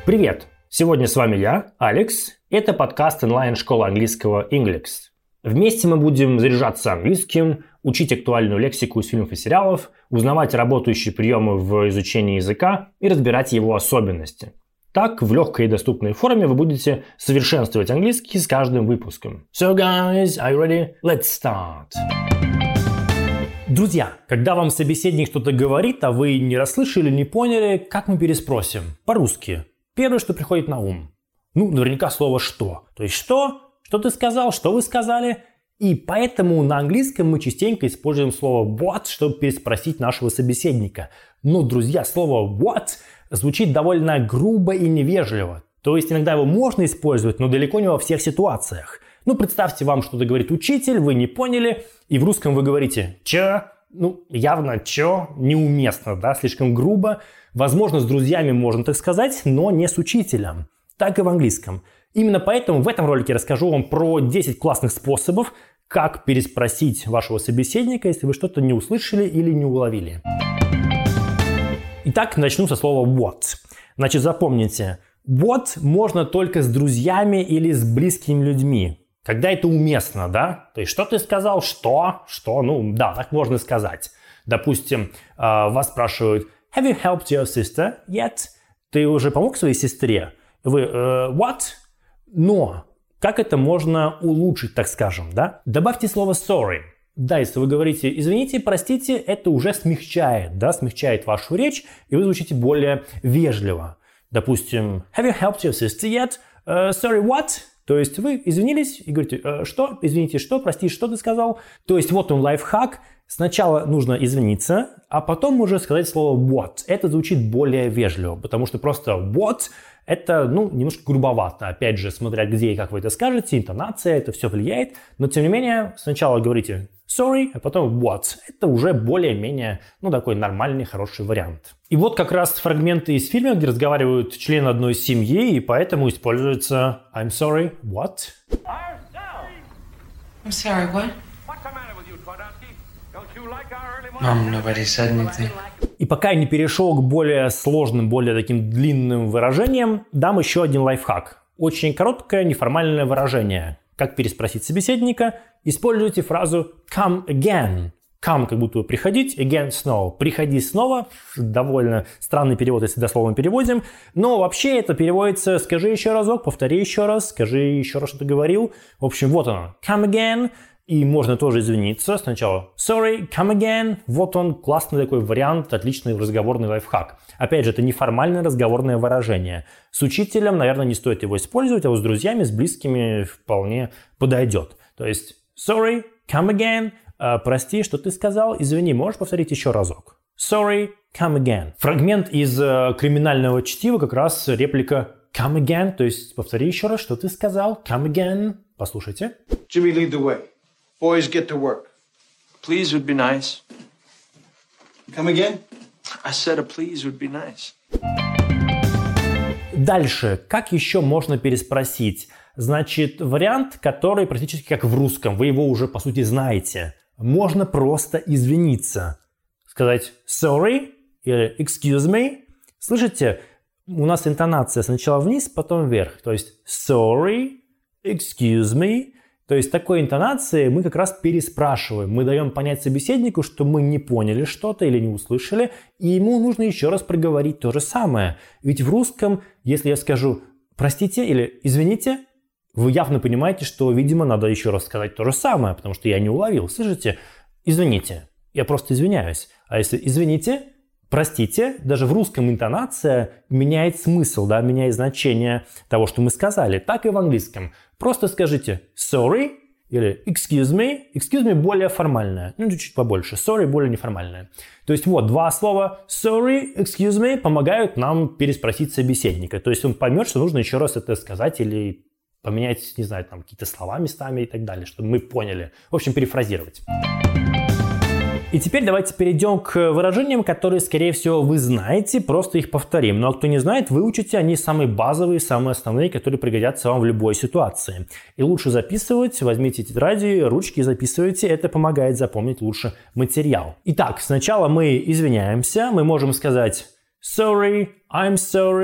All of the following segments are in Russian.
Привет! Сегодня с вами я, Алекс. Это подкаст онлайн-школы английского Inglix. Вместе мы будем заряжаться английским, учить актуальную лексику из фильмов и сериалов, узнавать работающие приемы в изучении языка и разбирать его особенности. Так, в легкой и доступной форме вы будете совершенствовать английский с каждым выпуском. So guys, are you ready? Let's start! Друзья, когда вам собеседник что-то говорит, а вы не расслышали, не поняли, как мы переспросим? По-русски. Первое, что приходит на ум. Наверняка слово «что». То есть «что»? Что ты сказал? Что вы сказали? И поэтому на английском мы частенько используем слово what, чтобы переспросить нашего собеседника. Но, друзья, слово what звучит довольно грубо и невежливо. То есть иногда его можно использовать, но далеко не во всех ситуациях. Представьте, вам что-то говорит учитель, вы не поняли, и в русском вы говорите «чё?». Явно «чё?» неуместно, да, слишком грубо. Возможно, с друзьями можно так сказать, но не с учителем. Так и в английском. Именно поэтому в этом ролике расскажу вам про 10 классных способов, как переспросить вашего собеседника, если вы что-то не услышали или не уловили. Итак, начну со слова what. Запомните, what можно только с друзьями или с близкими людьми. Когда это уместно, да? То есть, что ты сказал? Что? Да, так можно сказать. Допустим, вас спрашивают Have you helped your sister yet? Ты уже помог своей сестре? Вы what? Но как это можно улучшить, так скажем, да? Добавьте слово sorry. Да, если вы говорите извините, простите, это уже смягчает, да, смягчает вашу речь, и вы звучите более вежливо. Допустим, Have you helped your sister yet? Sorry, what? То есть вы извинились и говорите, что? Извините, что? Прости, что ты сказал? То есть вот он лайфхак. Сначала нужно извиниться, а потом уже сказать слово what. Это звучит более вежливо, потому что просто what это, немножко грубовато. Опять же, смотря где и как вы это скажете, интонация, это все влияет. Но тем не менее, сначала говорите sorry, а потом what. Это уже более-менее, такой нормальный, хороший вариант. И вот как раз фрагменты из фильма, где разговаривают члены одной семьи, и поэтому используется I'm sorry, what? I'm sorry, what? Mom, nobody said anything. И пока я не перешел к более сложным, более таким длинным выражениям, дам еще один лайфхак. Очень короткое неформальное выражение. Как переспросить собеседника? Используйте фразу come again. Come как будто бы приходить, again снова. Приходи снова. Довольно странный перевод, если дословно переводим. Но вообще это переводится скажи еще разок, повтори еще раз, скажи еще раз, что ты говорил. В общем, вот оно. Come again. И можно тоже извиниться. Сначала sorry, come again. Вот он, классный такой вариант, отличный разговорный лайфхак. Опять же, это неформальное разговорное выражение. С учителем, наверное, не стоит его использовать, а вот с друзьями, с близкими вполне подойдет. То есть sorry, come again. Прости, что ты сказал? Извини, можешь повторить еще разок? Sorry, come again. Фрагмент из криминального чтива, как раз реплика come again. То есть повтори еще раз, что ты сказал? Come again. Послушайте. Jimmy, lead the way. Boys, get to work. Please would be nice. Come again? I said a please would be nice. Дальше. Как еще можно переспросить? Вариант, который практически как в русском. Вы его уже, по сути, знаете. Можно просто извиниться. Сказать sorry или excuse me. Слышите? У нас интонация сначала вниз, потом вверх. То есть sorry, excuse me. То есть такой интонацией мы как раз переспрашиваем. Мы даем понять собеседнику, что мы не поняли что-то или не услышали, и ему нужно еще раз проговорить то же самое. Ведь в русском, если я скажу «простите» или «извините», вы явно понимаете, что, видимо, надо еще раз сказать то же самое, потому что я не уловил. Слышите? «Извините». Я просто извиняюсь. А если «извините», «простите», даже в русском интонация меняет смысл, да, меняет значение того, что мы сказали. Так и в английском. Просто скажите sorry или excuse me. Excuse me более формальное, чуть-чуть побольше. Sorry более неформальное. То есть вот два слова sorry, excuse me помогают нам переспросить собеседника. То есть он поймет, что нужно еще раз это сказать или поменять, не знаю, какие-то слова местами и так далее, чтобы мы поняли. В общем, перефразировать. И теперь давайте перейдем к выражениям, которые, скорее всего, вы знаете, просто их повторим. Ну а кто не знает, выучите, они самые базовые, самые основные, которые пригодятся вам в любой ситуации. И лучше записывать, возьмите тетради, ручки, записывайте, это помогает запомнить лучше материал. Итак, сначала мы извиняемся, мы можем сказать sorry, I'm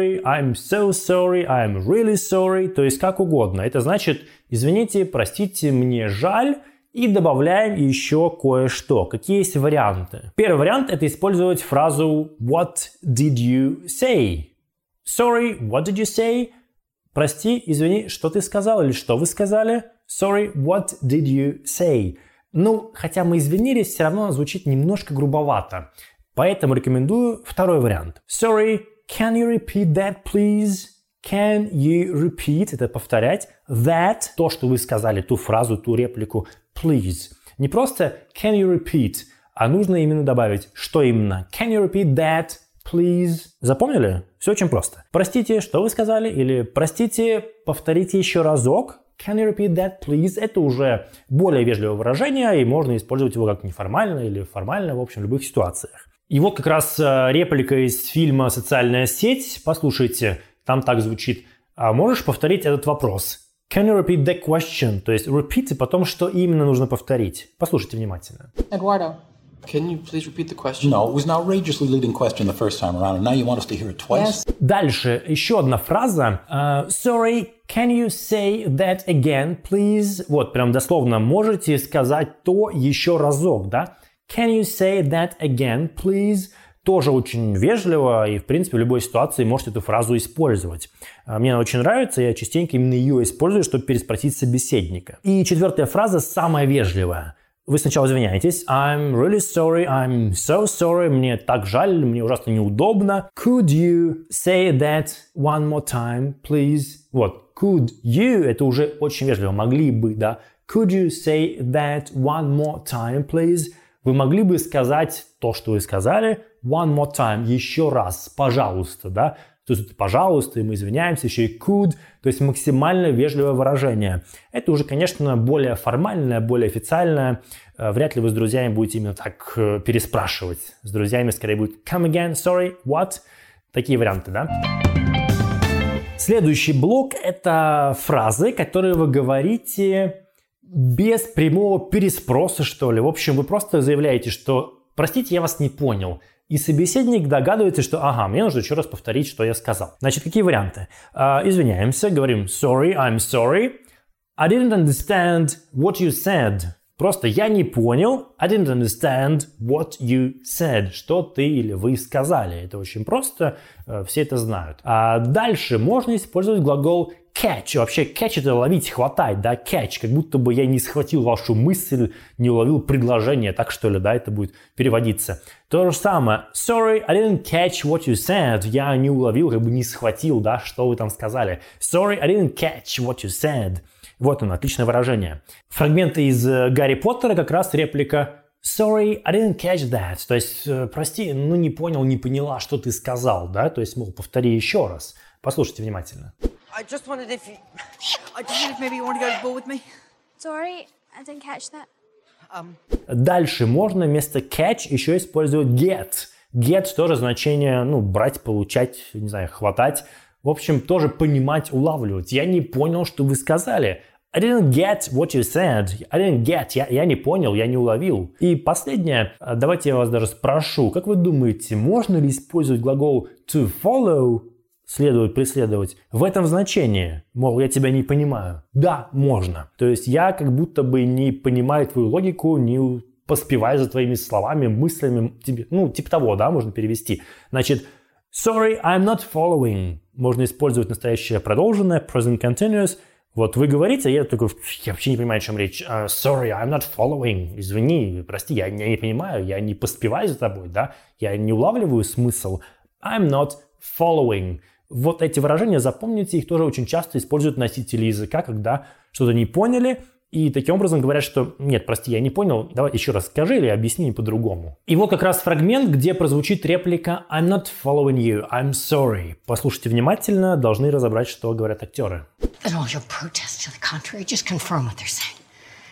so sorry, I'm really sorry, то есть как угодно. Это значит, извините, простите, мне жаль, и добавляем еще кое-что. Какие есть варианты? Первый вариант – это использовать фразу what did you say? Sorry, what did you say? Прости, извини, что ты сказал или что вы сказали? Sorry, what did you say? Ну, хотя мы извинились, все равно звучит немножко грубовато. Поэтому рекомендую второй вариант. Sorry, can you repeat that, please? Can you repeat, это повторять, that, то, что вы сказали, ту фразу, ту реплику, please. Не просто can you repeat, а нужно именно добавить, что именно. Can you repeat that, please? Запомнили? Все очень просто. Простите, что вы сказали, или простите, повторите еще разок. Can you repeat that, please? Это уже более вежливое выражение, и можно использовать его как неформально или формально, в общем, в любых ситуациях. И вот как раз реплика из фильма «Социальная сеть». Послушайте, там так звучит. Можешь повторить этот вопрос? Can you repeat that question? То есть repeat, и потом что именно нужно повторить. Послушайте внимательно. Eduardo. Can you please repeat the question? No, it was an outrageously leading question the first time around, and now you want us to hear it twice? Yes. Дальше еще одна фраза. Sorry, can you say that again, please? Вот, прям дословно. Можете сказать то еще разок, да? Can you say that again, please? Тоже очень вежливо, и, в принципе, в любой ситуации можете эту фразу использовать. Мне она очень нравится, я частенько именно ее использую, чтобы переспросить собеседника. И четвертая фраза самая вежливая. Вы сначала извиняетесь. I'm really sorry, I'm so sorry, мне так жаль, мне ужасно неудобно. Could you say that one more time, please? Вот, could you, это уже очень вежливо, могли бы, да. Could you say that one more time, please? Вы могли бы сказать то, что вы сказали, one more time, еще раз, пожалуйста, да? То есть, пожалуйста, и мы извиняемся, еще и could, то есть максимально вежливое выражение. Это уже, конечно, более формальное, более официальное. Вряд ли вы с друзьями будете именно так переспрашивать. С друзьями скорее будет come again, sorry, what? Такие варианты, да? Следующий блок – это фразы, которые вы говорите без прямого переспроса, что ли. В общем, вы просто заявляете, что «простите, я вас не понял». И собеседник догадывается, что «ага, мне нужно еще раз повторить, что я сказал». Значит, какие варианты? Извиняемся, говорим «sorry, I'm sorry». I didn't understand what you said. Просто я не понял. I didn't understand what you said. Что ты или вы сказали. Это очень просто, все это знают. А дальше можно использовать глагол catch. Вообще catch это ловить, хватать, да, catch. Как будто бы я не схватил вашу мысль, не уловил предложение, так что ли, да, это будет переводиться. То же самое. Sorry, I didn't catch what you said. Я не уловил, как бы не схватил, да, что вы там сказали. Sorry, I didn't catch what you said. Вот оно, отличное выражение. Фрагменты из Гарри Поттера как раз реплика Sorry, I didn't catch that. То есть, прости, ну не понял, не поняла, что ты сказал, да? То есть, мол, повтори еще раз. Послушайте внимательно. I just wondered if maybe you want to go to the ball with me. Sorry, I didn't catch that. Дальше можно вместо catch еще использовать get. Get тоже значение, ну, брать, получать, не знаю, хватать. В общем, тоже понимать, улавливать. Я не понял, что вы сказали. I didn't get what you said. I didn't get. Я не понял, я не уловил. И последнее. Давайте я вас даже спрошу. Как вы думаете, можно ли использовать глагол to follow, следовать, преследовать, в этом значении? Мол, я тебя не понимаю. Да, можно. То есть я как будто бы не понимаю твою логику, не поспеваю за твоими словами, мыслями. Ну, типа того, да, можно перевести. Значит, sorry, I'm not following. Можно использовать настоящее продолженное, present continuous. Вот вы говорите, я такой, я вообще не понимаю, о чем речь. Sorry, I'm not following. Извини, прости, я не понимаю, я не поспеваю за тобой, да? Я не улавливаю смысл. I'm not following. Вот эти выражения, запомните, их тоже очень часто используют носители языка, когда что-то не поняли, и таким образом говорят, что нет, прости, я не понял, давай еще раз скажи или объясни по-другому. И вот как раз фрагмент, где прозвучит реплика I'm not following you, I'm sorry. Послушайте внимательно, должны разобрать, что говорят актеры. And all your protests to the contrary just confirm what they're saying.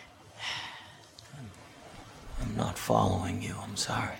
I'm not following you, I'm sorry.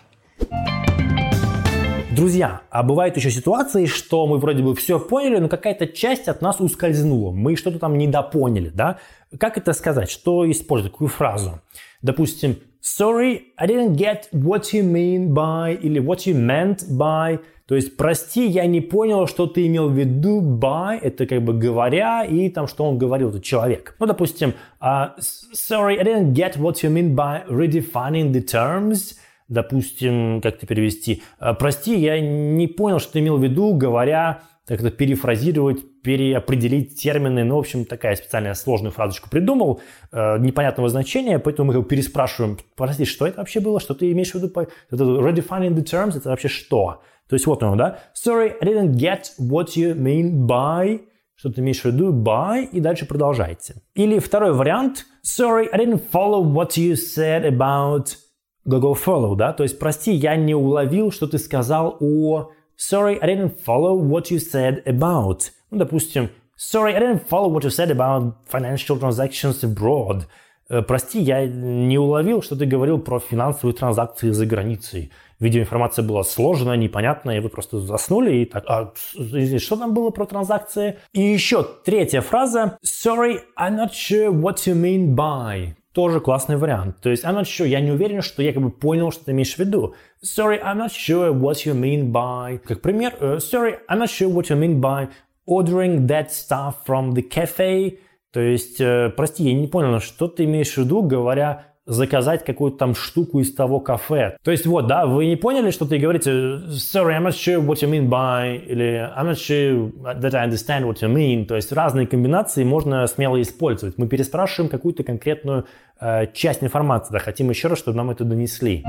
Друзья, а бывают еще ситуации, что мы вроде бы все поняли, но какая-то часть от нас ускользнула. Мы что-то там недопоняли, да? Как это сказать? Что использовать? Какую фразу? Допустим, sorry, I didn't get what you mean by или what you meant by. То есть, прости, я не понял, что ты имел в виду by, это как бы говоря, и там, что он говорил, этот человек. Ну, допустим, sorry, I didn't get what you mean by redefining the terms. Допустим, как это перевести? Прости, я не понял, что ты имел в виду, говоря, как-то перефразировать, переопределить термины. Ну, в общем, такая специальная сложную фразочку придумал, непонятного значения, поэтому мы его переспрашиваем. Прости, что это вообще было? Что ты имеешь в виду? Это redefining the terms, это вообще что? То есть вот оно, да? Sorry, I didn't get what you mean by. Что ты имеешь в виду? By. И дальше продолжайте. Или второй вариант. Sorry, I didn't follow what you said about go follow, да? То есть, прости, я не уловил, что ты сказал о... Sorry, I didn't follow what you said about. Ну, допустим, sorry, I didn't follow what you said about financial transactions abroad. Прости, я не уловил, что ты говорил про финансовые транзакции за границей. Видимо, информация была сложная, непонятная, и вы просто заснули и так, что там было про транзакции? И еще третья фраза. Sorry, I'm not sure what you mean by. Тоже классный вариант. То есть, I'm not sure, я не уверен, что я как бы понял, что ты имеешь в виду. Sorry, I'm not sure what you mean by. Как пример, sorry, I'm not sure what you mean by ordering that stuff from the cafe. То есть, прости, я не понял, что ты имеешь в виду, говоря, заказать какую-то там штуку из того кафе. То есть, вот, да, вы не поняли, что ты говорите sorry, I'm not sure what you mean by, или I'm not sure that I understand what you mean. То есть, разные комбинации можно смело использовать. Мы переспрашиваем какую-то конкретную часть информации, да, хотим еще раз, чтобы нам это донесли.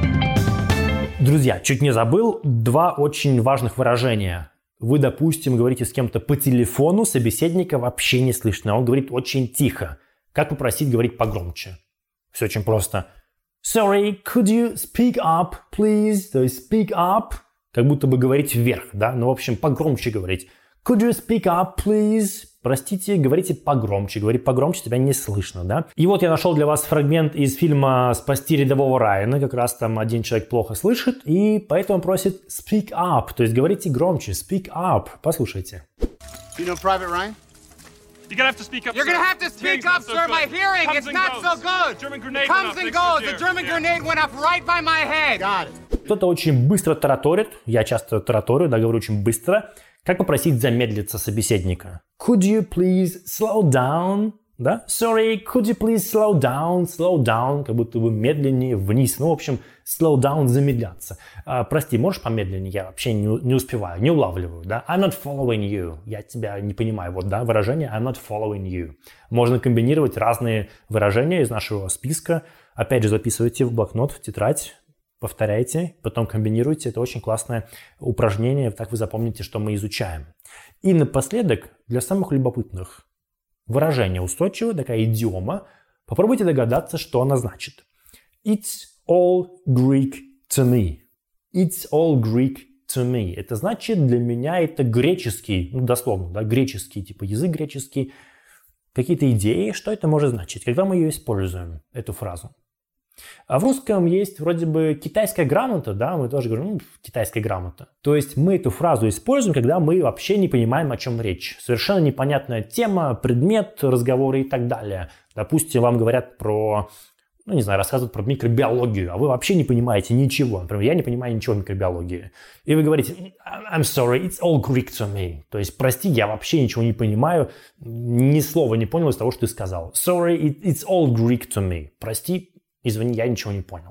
Друзья, чуть не забыл, два очень важных выражения. Вы, допустим, говорите с кем-то по телефону, собеседника вообще не слышно, он говорит очень тихо. Как попросить говорить погромче? Все очень просто. Sorry, could you speak up, please? То есть speak up, как будто бы говорить вверх, да? Ну, в общем, погромче говорить. Could you speak up, please? Простите, говорите погромче. Говори погромче, тебя не слышно, да? И вот я нашел для вас фрагмент из фильма «Спасти рядового Райана». Как раз там один человек плохо слышит, и поэтому просит speak up. То есть говорите громче. Speak up. Послушайте. You know Private Ryan? You're gonna have to speak up. You're gonna have to speak up, sir. My hearing is not so good. German grenade Comes and goes. The German grenade went off right by my head. Got it. Кто-то очень быстро тараторит. Я часто тараторю, да, говорю очень быстро. Как попросить замедлиться собеседника? Could you please slow down? Да? Sorry, could you please slow down? Slow down, как будто бы медленнее вниз. Ну, в общем, slow down, замедляться. Прости, можешь помедленнее? Я вообще не успеваю, не улавливаю, да? I'm not following you. Я тебя не понимаю. Вот, да, выражение I'm not following you. Можно комбинировать разные выражения из нашего списка. Опять же, записывайте в блокнот, в тетрадь. Повторяйте, потом комбинируйте. Это очень классное упражнение. Так вы запомните, что мы изучаем. И напоследок, для самых любопытных, выражение устойчивое, такая идиома. Попробуйте догадаться, что она значит. It's all Greek to me. It's all Greek to me. Это значит, для меня это греческий, ну, дословно, да, греческий, типа язык греческий. Какие-то идеи, что это может значить, когда мы ее используем, эту фразу. А в русском есть вроде бы китайская грамота, да, мы тоже говорим, китайская грамота. То есть мы эту фразу используем, когда мы вообще не понимаем, о чем речь. Совершенно непонятная тема, предмет разговора и так далее. Допустим, вам говорят про, ну не знаю, рассказывают про микробиологию, а вы вообще не понимаете ничего. Например, я не понимаю ничего в микробиологии. И вы говорите, I'm sorry, it's all Greek to me. То есть, прости, я вообще ничего не понимаю, ни слова не понял из того, что ты сказал. Sorry, it's all Greek to me. Прости, извини, я ничего не понял.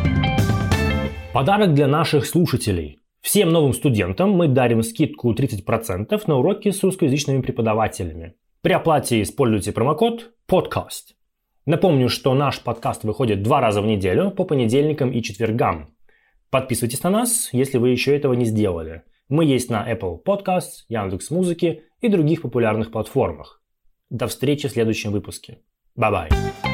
Подарок для наших слушателей. Всем новым студентам мы дарим скидку 30% на уроки с русскоязычными преподавателями. При оплате используйте промокод PODCAST. Напомню, что наш подкаст выходит 2 раза в неделю по понедельникам и четвергам. Подписывайтесь на нас, если вы еще этого не сделали. Мы есть на Apple Podcasts, Яндекс.Музыке и других популярных платформах. До встречи в следующем выпуске. Bye-bye.